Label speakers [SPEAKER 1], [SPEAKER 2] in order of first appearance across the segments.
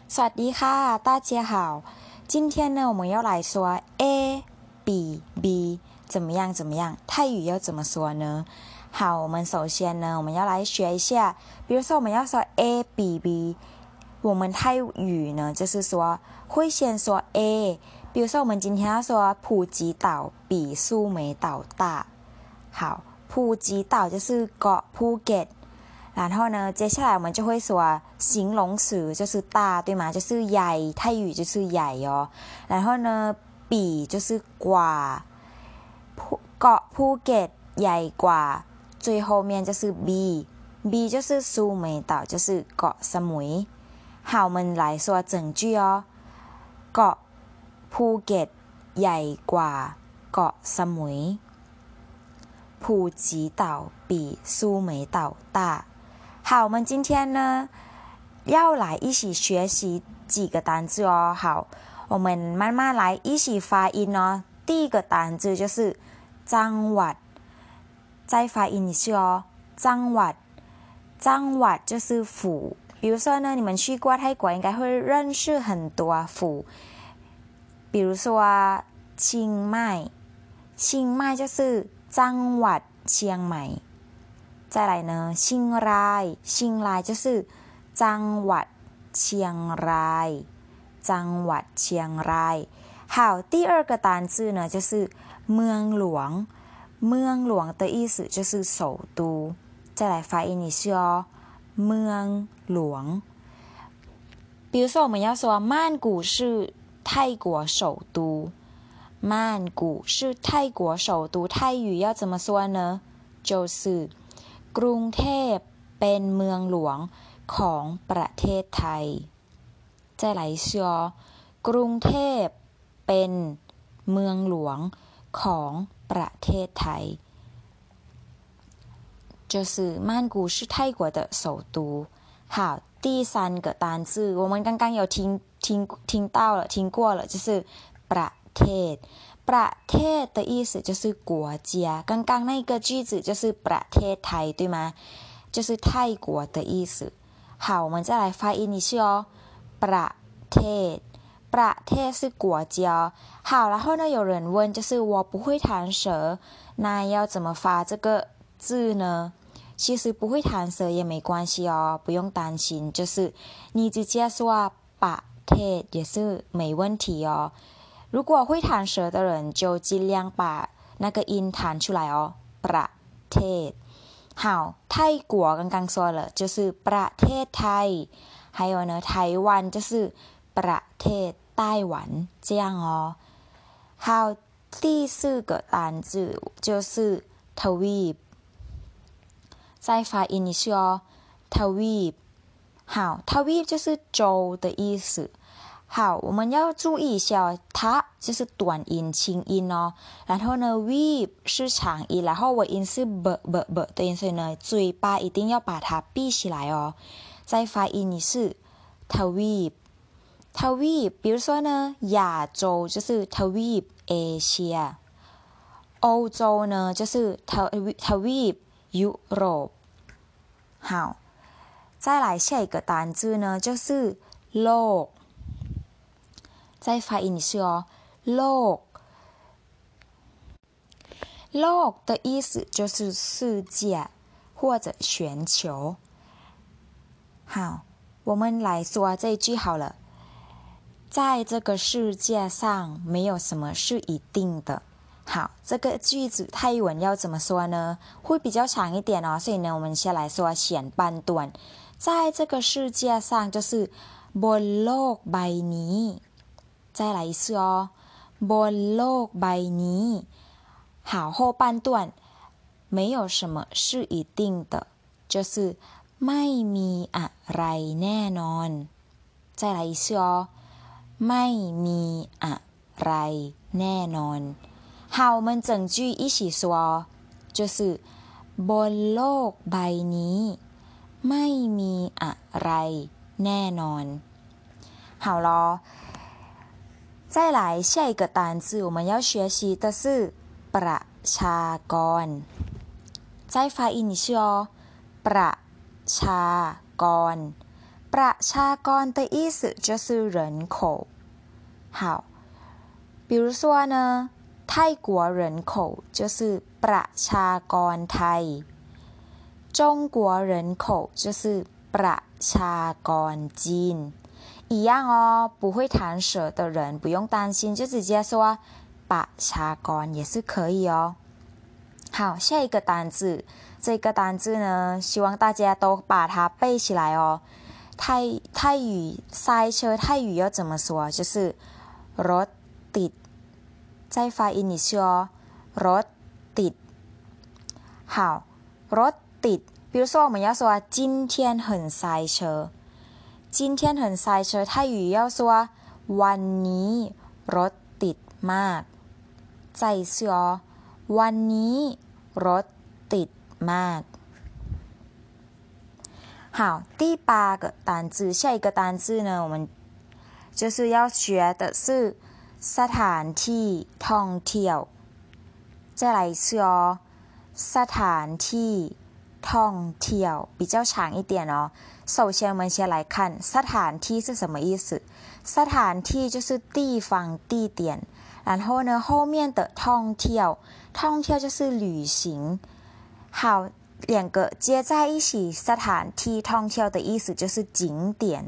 [SPEAKER 1] สวัสดีค่ะ大家好今天呢我们要来说 A B B 怎么样泰语要怎么说呢好我们首先呢我们要来学一下比如说我们要说 A B B 我们泰语呢就是说会先说 A 比如说我们今天要说普吉岛比苏梅岛大好普吉岛就是เกาะภูเก็ต然后呢接下来我们就会说形容词就是大对吗就是ใหญ่泰语就是ใหญ่哦然后呢比就是กว่าเกาะภูเก็ตใหญ่กว่า最后面就是 B B 就是苏梅岛就是เกาะสมุย好我们来说整句哦เกาะภูเก็ตใหญ่กว่าเกาะสมุย普吉岛比苏梅岛大好我们今天呢要来一起学习几个单字哦好我们慢慢来一起发音哦第一个单字就是จังหวัด再发音一次哦จังหวัดจังหวัด就是府比如说呢你们去过泰国应该会认识很多府比如说清迈清迈就是จังหวัดเชียงใหม่再来呢เชียงรายเชียงราย就是จังหวัดเชียงรายจังหวัดเชียงราย好第二个单字呢就是เมืองหลวงเมืองหลวง的意思就是首都再来发音一次哦เมืองหลวง比如说我们要说曼谷是泰国首都曼谷是泰国首都泰语要怎么说呢就是กรุงเทพเป็นเมืองหลวงของประเทศไทย再来一次哦กรุงเทพเป็นเมืองหลวงของประเทศไทย就是曼谷是泰国的首都好第三个单字我们刚刚有听到了听过了就是ประเทศประเทศ的意思就是国家刚刚那个句子就是ประเทศไทย对吗就是泰国的意思好我们再来发音一次哦ประเทศประเทศ是国家好然后呢有人问就是我不会弹舌那要怎么发这个字呢其实不会弹舌也没关系哦不用担心就是你直接说ประเทศ也是没问题哦如果会弹舌的人就尽量把那个音弹出来哦ประเทศ好泰国刚刚说了就是ประเทศไทย还有呢台湾就是ประเทศไต้หวัน这样哦好第四个单字就是ทวีป再发音一次哦ทวีป好ทวีป就是洲的意思好我们要注意一下它就是短音轻音哦然后呢 weep 是长音然后尾音是 b 的音所以呢嘴巴一定要把它闭起来哦再发音一次ทวีปทวีป比如说呢亚洲就是ทวีปเอเชีย欧洲呢就是ทวีปยุโรป好再来下一个单字呢就是โลก再发音一次哦โลกโลก的意思就是世界或者全球好我们来说这一句好了在这个世界上没有什么是一定的好这个句子泰文要怎么说呢会比较长一点哦所以呢我们先来说前半段在这个世界上就是บนโลกใบนี้再来一次哦บนโลกใบนี้好后半段没有什么是一定的就是ไม่มีอะไรแน่นอน再来一次哦ไม่มีอะไรแน่นอน好我们整句一起说就是บนโลกใบนี้ไม่มีอะไรแน่นอน好咯再来下一个单字我们要学习的是ประชากร再发音一次哦ประชากรประชากร的意思就是人口。好，比如说呢，泰国人口就是ประชากรไทย，中国人口就是ประชากรจีน。一样哦，不会弹舌的人不用担心，就直接说ประชากร也是可以哦。好，下一个单字，这个单字呢，希望大家都把它背起来哦。泰语塞车，泰语要怎么说？就是รถติด再发音一次哦，รถติด。好，รถติด，比如说我们要说今天很塞车，今天很塞车，泰语要说วันนี้รถติดมาก再一次哦，วันนี้รถติดมาก。好，第8个单字，下一个单字呢，我们就是要学的是สถานที่ท่องเที่ยว。再来一次哦，สถานที่ท่องเที่ยว比较长一点哦。首先，我们先来看สถานที่是什么意思。สถานที่就是地方、地点，然后呢，后面的ท่องเที่ยว，ท่องเที่ยว就是旅行。好，两个接在一起，สถานที่ท่องเที่ยว的意思就是景点。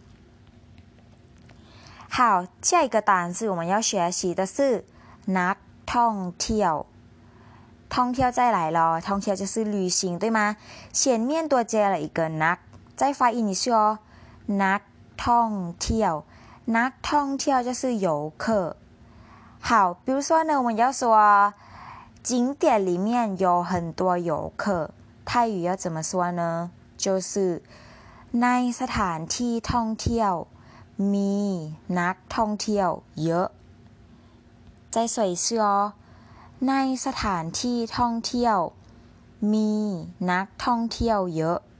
[SPEAKER 1] 好，下一个单词我们要学习的是นักท่องเที่ยว。ท่องเที่ยว再来咯，ท่องเที่ยว就是旅行，对吗？前面多接了一个นัก，再发音一次哦，นักท่องเที่ยว，นักท่องเที่ยว就是游客。好，比如说呢，我们要说景点里面有很多游客，泰语要怎么说呢？就是ในสถานที่ท่องเที่ยวมีนักท่องเที่ยวเยอะ再说一次哦，ในสถานที่ท่องเที่ยวมีนักท่องเที่ยวเยอะ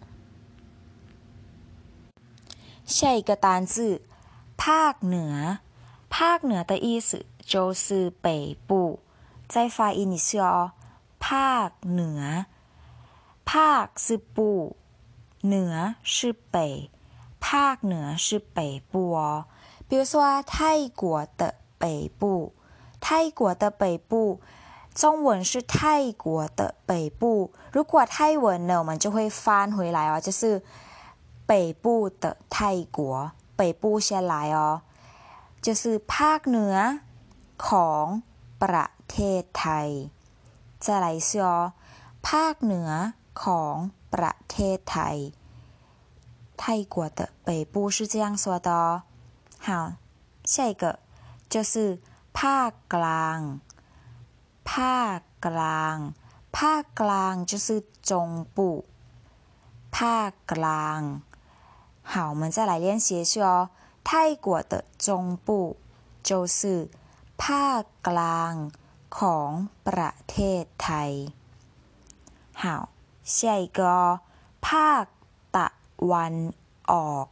[SPEAKER 1] 下一个单字ภาคเหนือภาคเหนือ的意思就是北部再发音一次哦，ภาคเหนือภาค是部เหนือ是北ภาคเหนือ是北部哦，比如说泰国的北部，泰国的北部，中文是泰国的北部。如果泰文呢，我们就会翻回来哦，就是北部的泰国，北部先来哦，就是ภาคเหนือของประเทศไทย。再来一次哦，ภาคเหนือของประเทศไทย。泰国的北部是这样说的哦。好，下一个就是ภาคกลางภาคกลางภาคกลาง就是中部ภาคกลาง好，我们再来练习一次哦。泰国的中部就是ภาคกลางของประเทศไทย。好，下一个哦，ภาคตะวันออก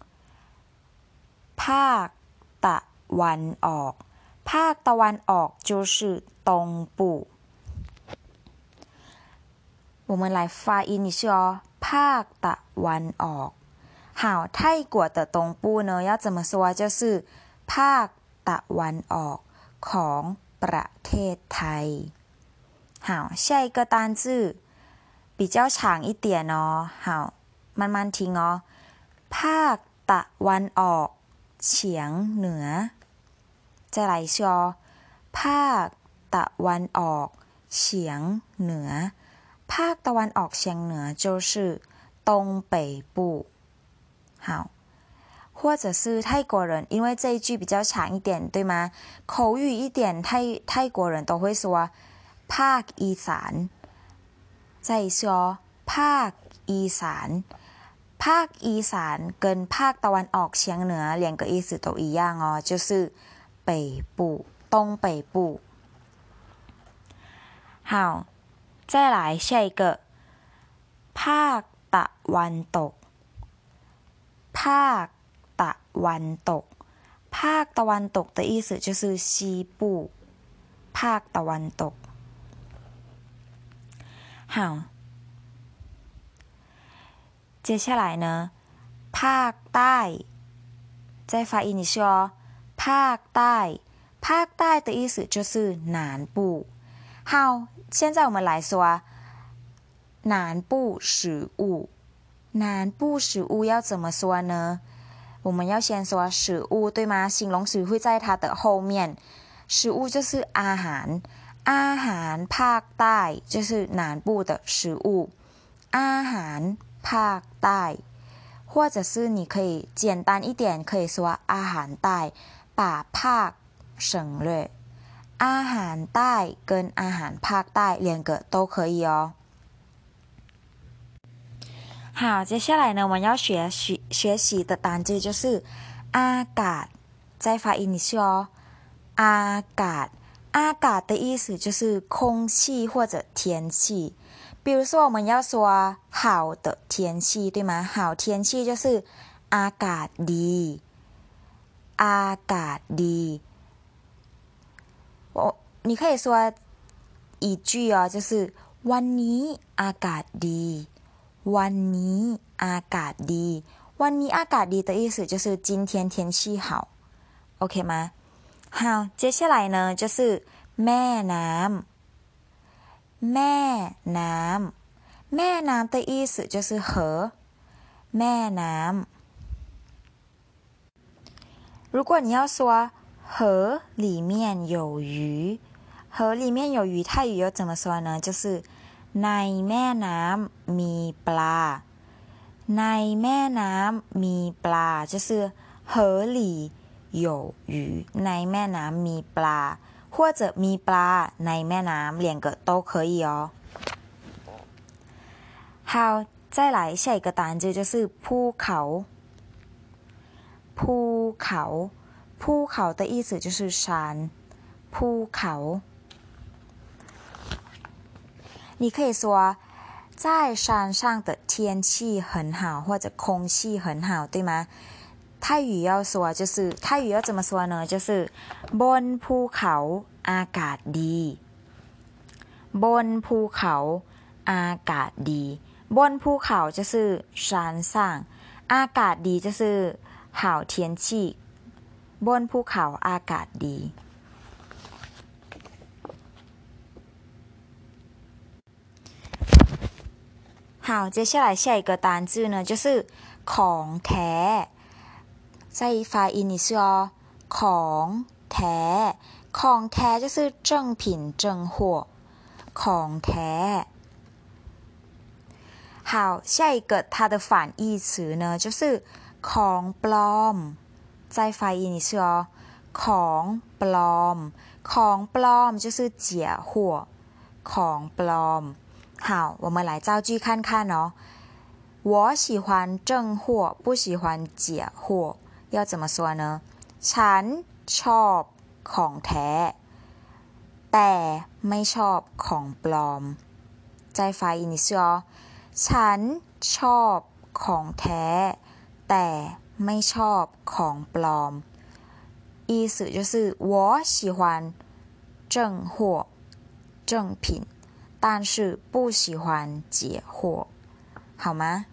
[SPEAKER 1] ภาคตะวันออกภาคตะวันออก就是东部我们来发音一次哦，ภาคตะวันออก好，泰国的东部呢要怎么说？就是ภาคตะวันออกของประเทศไทย。好，下一个单字比较长一点哦。好，慢慢听哦。ภาคตะวันออกเฉียงเหนือ再来一次哦，ภาคตะวันออกเฉียงเหนือภาคตะวันออกเฉียงเหนือ就是东北部。好，或者是泰国人，因为这一句比较长一点，对吗？口语一点，泰国人都会说ภาคอีสาน再一次哦，ภาคอีสานภาคอีสาน跟ภาคตะวันออกเฉียงเหนือ两个意思都一样哦，就是北部东北部。好，再来下一个ภาคตะวันตกภาคตะวันตกภาคตะวันตก的意思就是西部ภาคตะวันตก好接下来呢ภาคใต้再发音一下哦，ภาคใต้ภาคใต้的意思就是南部。好，现在我们来说南部食物。南部食物要怎么说呢？我们要先说食物，对吗？形容词会在它的后面。食物就是อาหารอาหารภาคใต้就是南部的食物。อาหารภาคใต้或者是你可以简单一点，可以说อาหารใต้把ภาค省略。อาหารใต้跟อาหารภาคใต้两个都可以哦。好，接下来呢，我们要学习的单字就是อากาศ再发音一下哦。อากาศอากาศ的意思就是空气或者天气。比如说我们要说好的天气，对吗？好天气就是อากาศดีอากาศดี你可以说一句哦，就是วันนี้อากาศดีวันนี้อากาศดีวันนี้อากาศดี的意思就是今天天气好 OK 吗？好，接下来呢就是แม่น้ำแม่น้ำแม่น้ำ的意思就是河แม่น้ำ如果你要说河里面有鱼河里面有鱼泰语又怎么说呢？就是ในแม่น้ำมีปลาในแม่น้ำมีปลา就是河里有鱼ในแม่น้ำมีปลา或者มีปลาในแม่น้ำ两个都可以哦。好，再来下一个单字就是ภูเขาภูเขาภูเขา的意思就是山ภูเขา你可以说在山上的天气很好或者空气很好对吗？泰语要说就是泰语要怎么说呢？就是บนภูเขาอากาศดีบนภูเขาอากาศดีบนภูเขา就是山上อากาศดี就是好天气บนภูเขาอากาศดี好，接下来下一个单字呢就是ของแท้再发音一次哦ของแท้ของแท้就是正品正货ของแท้好，下一个它的反义词呢就是ของปลอม再发音一次哦ของปลอมของปลอม就是假货ของปลอม好，我们来造句看看哦。我喜欢正货，不喜欢假货。要怎么说呢？ฉันชอบของแท้แต่ไม่ชอบของปลอม再发音一次哦。ฉันชอบของแท้แต่ไม่ชอบของปลอม意思就是我喜欢正货正品但是不喜欢假货好吗？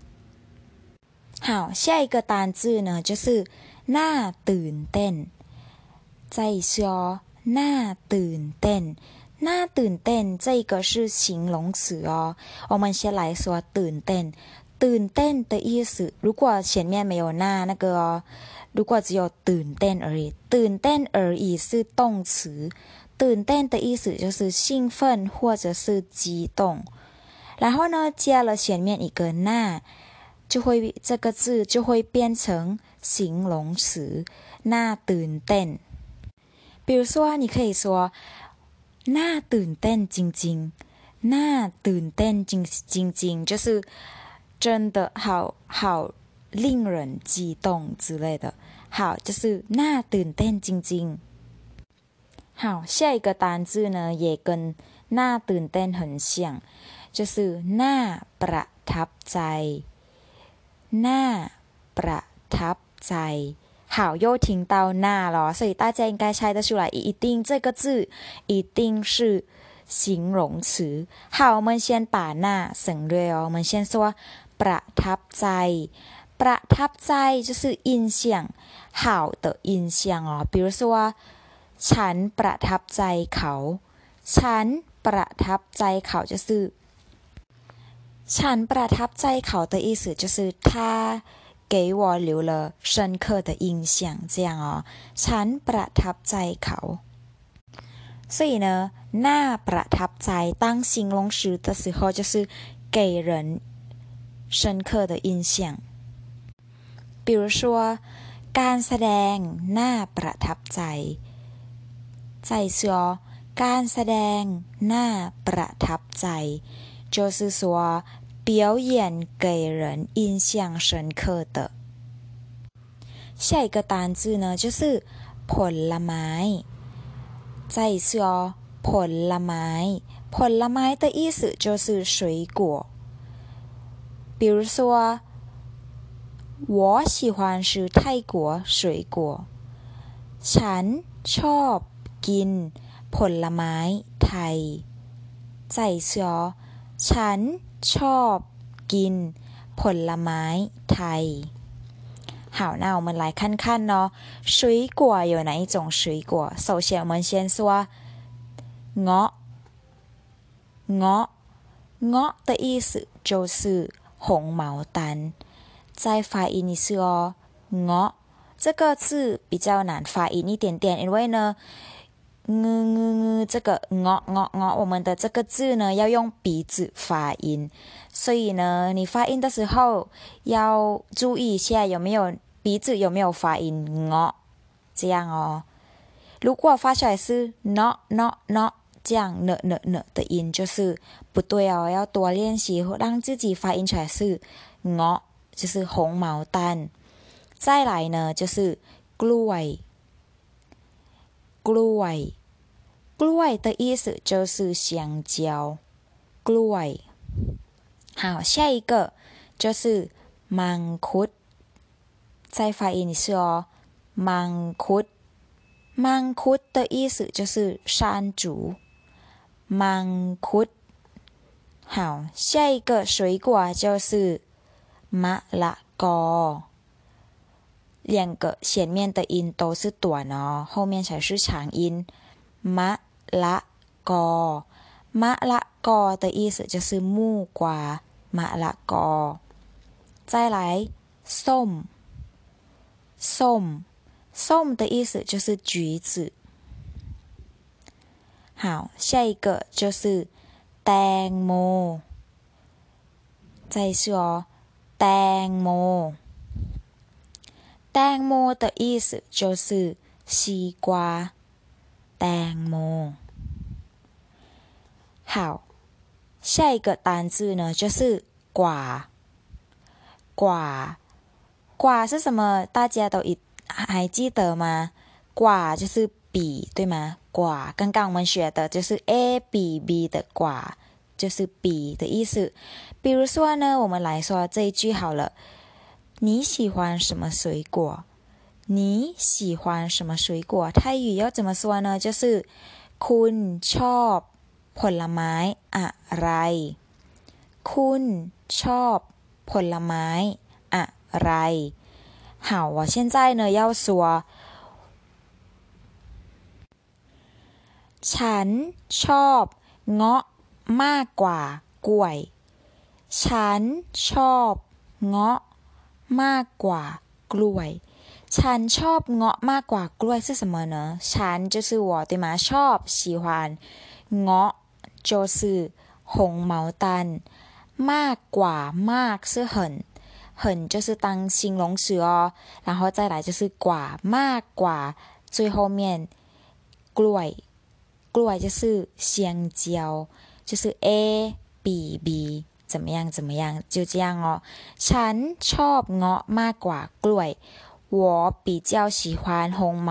[SPEAKER 1] 好，下一个单字呢就是น่าตื่นเต้น再一次哦น่าตื่นเต้นน่าตื่นเต้น这个是形容词哦我们先来说ตื่นเต้นตื่นเต้น的意思如果前面没有那个哦如果只有ตื่นเต้น而已ตื่นเต้น而已是动词ตื่นเต้น的意思就是兴奋或者是激动然后呢加了前面一个那就会这个字就会变成形容词น่าตื่นเต้น比如说你可以说น่าตื่นเต้นจริงๆน่าตื่นเต้นจริงๆ就是真的好令人激动之类的好就是น่าตื่นเต้นจริงๆ好下一个单字呢也跟น่าตื่นเต้น很像就是น่าประทับใจน่าประทับใจ好又听到那了所以大家应该猜得出来一定这个字一定是形容词好我们先把那省略哦我们先说ประทับใจประทับใจ就是印象好的印象哦比如说ฉันประทับใจเขาฉันประทับใจเขา就是ฉันประทับใจเขา的意思就是他给我留了深刻的印象这样哦ฉันประทับใจเขา所以呢น่าประทับใจ当形容词的时候就是给人深刻的印象比如说การแสดงน่าประทับใจ再一次哦การแสดงน่าประทับใจ就是说表演给人印象深刻的下一个单字呢就是ผลไม้再一次哦ผลไม้ผลไม้的意思就是水果比如说我喜欢吃泰国水果ฉันชอบกินผลไม้ไทย再一次哦ฉันชอบกินผลไม้ไทย好那我们来看看哦水果有哪一种水果首先我们先说เงาะเงาะเงาะ的意思就是红毛丹再发音一次哦เงาะ这个字比较难发音一点点因为呢这个我们的这个字呢要用鼻子发音所以呢你发音的时候要注意一下有没有鼻子有没有发音这样哦如果发出来是这样的音就是不对哦要多练习让自己发音出来是就是红毛丹再来呢就是กล้วยกล้วยกล้วย的意思就是香蕉กล้วย好下一个就是มังคุด再发音一次哦มังคุดมังคุด的意思就是山竹มังคุด好下一个水果就是มะละกอ两个前面的音都是短哦后面才是长音มะละกอมะละกอ的意思就是木瓜มะละกอ再来ส้มส้มส้ม的意思就是橘子好下一个就是แตงโม再一次哦แตงโมแตงโม的意思就是西瓜แตงโม好下一个单字呢就是quả quả quả是什么大家都还记得吗quả就是笔对吗quả刚刚我们学的就是 a b b 的quả就是笔的意思比如说呢我们来说这一句好了你喜欢什么水果你喜欢什么水果泰语要怎么说呢就是คุณชอบผลไม้อะไรคุณชอบผลไม้อะไร好我现在呢要说ฉันชอบเงาะมากกว่ากล้วยฉันชอบเงาะมากกว่ากล้วยฉันชอบเงาะมากกว่ากล้วย是什么呢ฉัน就是我对吗ชอบ喜欢เงาะ就是红毛丹มากกว่ามาก是很就是当形容词哦然后再来就是กว่ามากกว่า最后面กล้วยกล้วย就是香蕉就是 a b b 怎么样怎么样就这样哦ฉันชอบเงาะมากกว่ากล้วย我比较喜欢红毛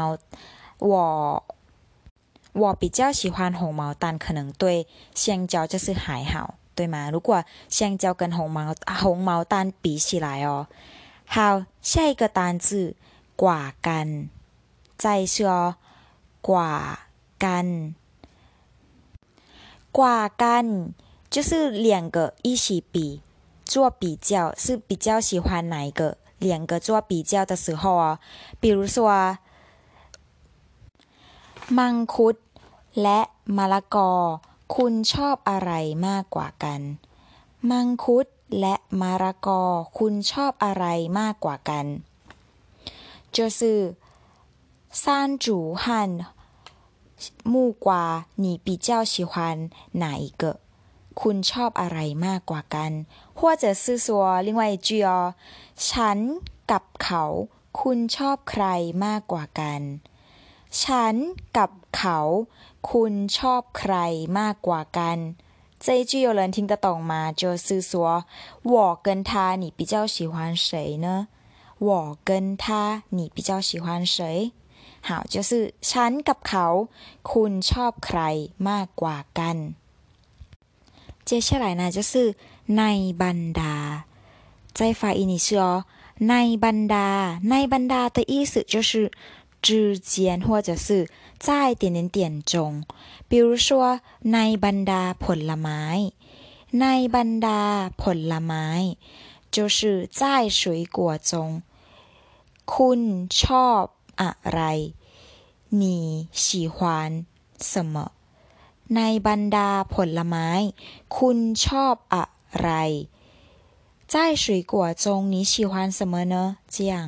[SPEAKER 1] 我比较喜欢红毛丹可能对香蕉就是还好对吗如果香蕉跟红毛丹比起来哦好下一个单字กว่ากัน再一次哦กว่ากันกว่ากัน就是两个一起比做比较是比较喜欢哪一个两个做比较的时候哦，比如说มังคุดและมะละกอคุณชอบอะไรมากกว่ากันมังคุดและมะละกอคุณชอบอะไรมากกว่ากัน就是山竹和木瓜你比较喜欢哪一个คุณชอบอะไรมากกว่ากัน或者是说另外一句哦ฉันกับเขาคุณชอบใครมากกว่ากันฉันกับเขาคุณชอบใครมากกว่ากัน这一句有人听得懂吗就是说我跟他你比较喜欢谁呢我跟他你比较喜欢谁好就是ฉันกับเขาคุณชอบใครมากกว่ากัน接下来呢就是ในบรรดา在发音你是哦ในบรรดาในบรรดา的意思就是之间或者是在点点点中比如说ในบรรดาผลไม้ในบรรดาผลไม้就是在水果中คุณชอบอะไร你喜欢什么ในบรรดาผลไม้คุณชอบอะไร在水果中你喜欢什么呢这样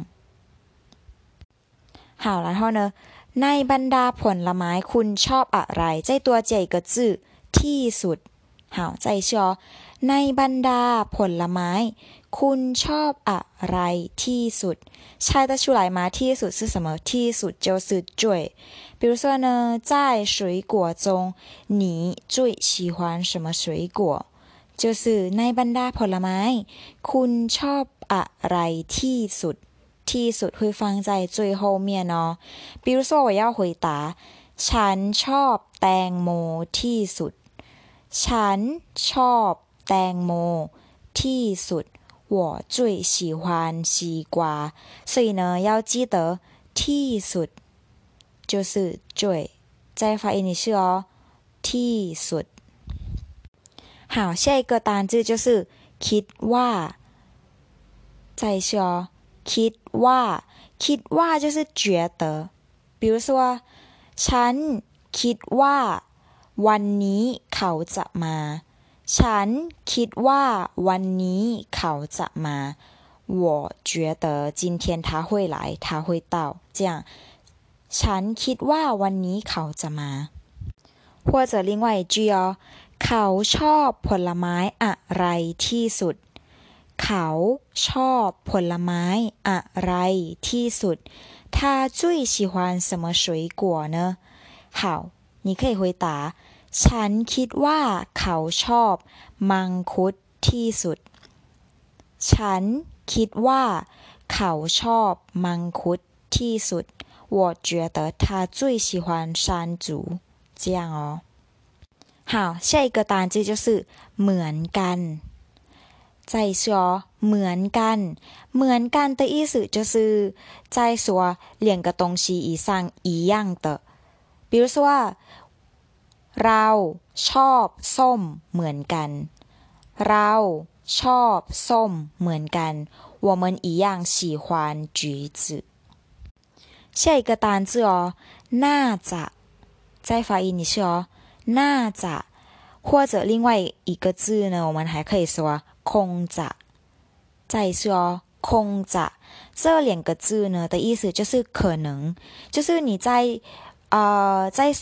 [SPEAKER 1] 好然后呢ในบรรดาผลไม้คุณชอบอะไร在多加一个字ที่สุด好再一次哦ในบรรดาผลไม้คุณชอบอะไรที่สุด猜得出来吗ที่สุด是什么ที่สุด就是最比如说呢在水果中你最喜欢什么水果就是ในบรรดาผลไม้คุณชอบอะไรที่สุดที่สุด会放在最后面哦比如说我要回答ฉันชอบแตงโมที่สุดฉันชอบแตงโมที่สุด我最喜欢西瓜所以呢要记得ที่สุด就是最再发音一次哦ที่สุด好下一个单字就是คิดว่า再一次哦คิดว่าคิดว่า就是觉得比如说ฉันคิดว่าวันนี้เขาจะมาฉันคิดว่าวันนี้เขาจะมา我觉得今天他会来他会到这样ฉันคิดว่าวันนี้เขาจะมา或者另外一句哦เขาชอบผลไม้อะไรที่สุดเขาชอบผลไม้อะไรที่สุด他最喜欢什么水果呢好你可以回答ฉันคิดว่าเขาชอบมังคุดที่สุดฉันคิดว่าเขาชอบมังคุดที่สุด我觉得他最喜欢山竹这样哦好下一个单字就是เหมือนกัน再说เหมือนกันเหมือนกัน的意思就是在说两个东西以上一样的比如说เราชอบส้มเหมือนกันเราชอบส้มเหมือนกัน我们一样喜欢橘子下一个单字哦น่าจะ再发音一次哦น่าจะ或者另外一个字呢我们还可以说คงจะ再一次哦คงจะ这两个字呢的意思就是可能就是你在说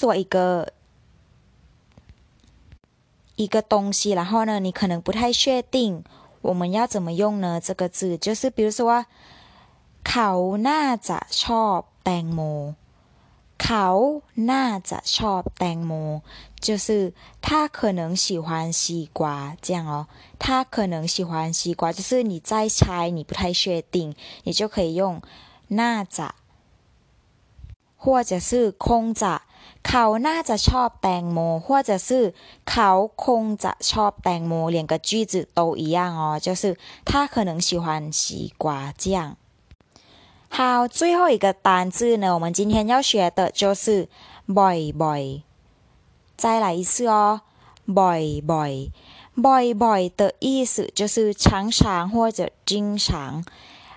[SPEAKER 1] 一个东西然后呢你可能不太确定我们要怎么用呢这个字就是比如说เขาน่าจะชอบแตงโมเขาน่าจะชอบแตงโม就是他可能喜欢西瓜这样哦他可能喜欢西瓜就是你在猜你不太确定你就可以用น่าจะ或者是คงจะเขาน่าจะชอบแตงโม或者是เขาคงจะชอบแตงโม两个句子都一样哦就是他可能喜欢西瓜这样好最后一个单字呢我们今天要学的就是บ่อย再来一次哦บ่อย的意思就是常常或者经常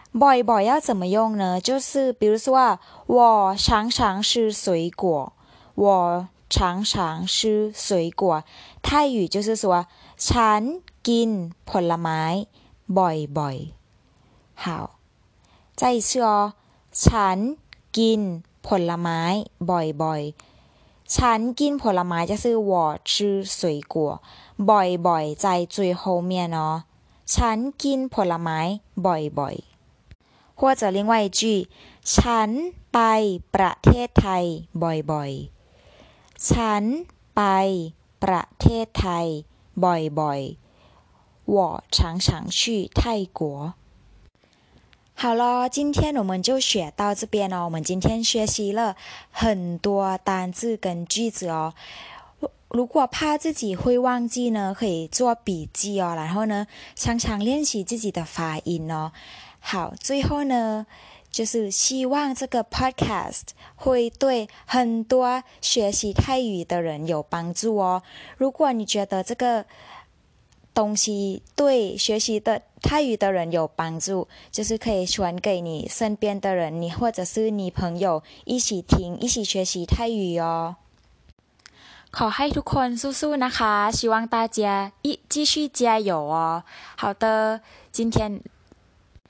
[SPEAKER 1] บ่อย要怎么用呢？就是比如说我常常吃水果，我常常吃水果。泰语就是说ฉันกินผลไม้บ่อยๆ好再一次哦ฉันกินผลไม้บ่อยๆฉันกินผลไม้就是我吃水果บ่อยๆ在最后面哦ฉันกินผลไม้บ่อยๆ或者另外一句ฉันไปประเทศไทยบ่อยๆฉันไปประเทศไทยบ่อยๆ我常常去泰国好了，今天我们就学到这边哦。我们今天学习了很多单字跟句子哦。如果怕自己会忘记呢，可以做笔记哦。然后呢，常常练习自己的发音哦。好，最后呢，就是希望这个 podcast 会对很多学习泰语的人有帮助哦。如果你觉得这个东西对学习的泰语的人有帮助，就是可以传给你身边的人，你或者是你朋友一起听，一起学习泰语哦。ขอให้ทุกคนสู้ๆนะคะ希望大家继续加油哦好的今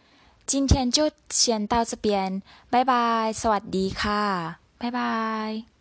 [SPEAKER 1] 天就先到这边拜拜สวัสดีค่ะ拜拜